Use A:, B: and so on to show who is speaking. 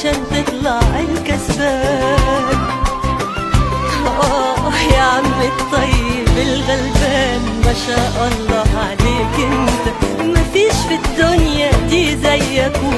A: عشان تطلع الكسبان. يا عم الطيب الغلبان، ما شاء الله عليك انت، مفيش في الدنيا دي زيك